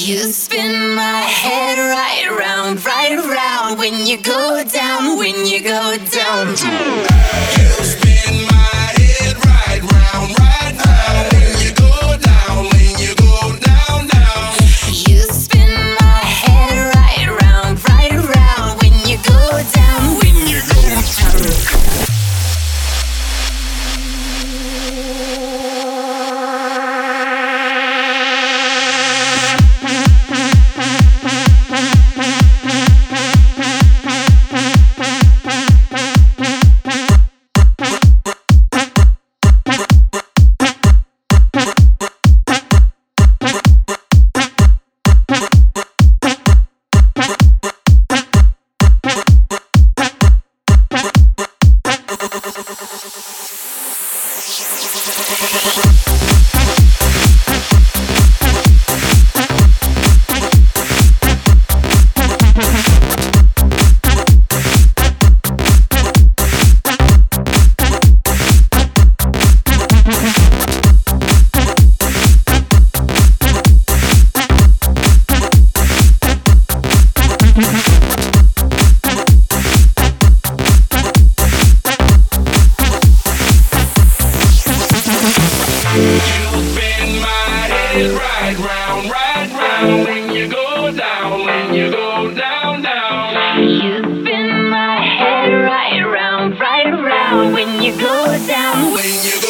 You spin my head right round when you go down, when you go down. You spin my head right round when you go down, when you go down, down. You spin my head right round when you go down, when you go down. Right round when you go down, when you go down, down. You spin my head right round when you go down. When you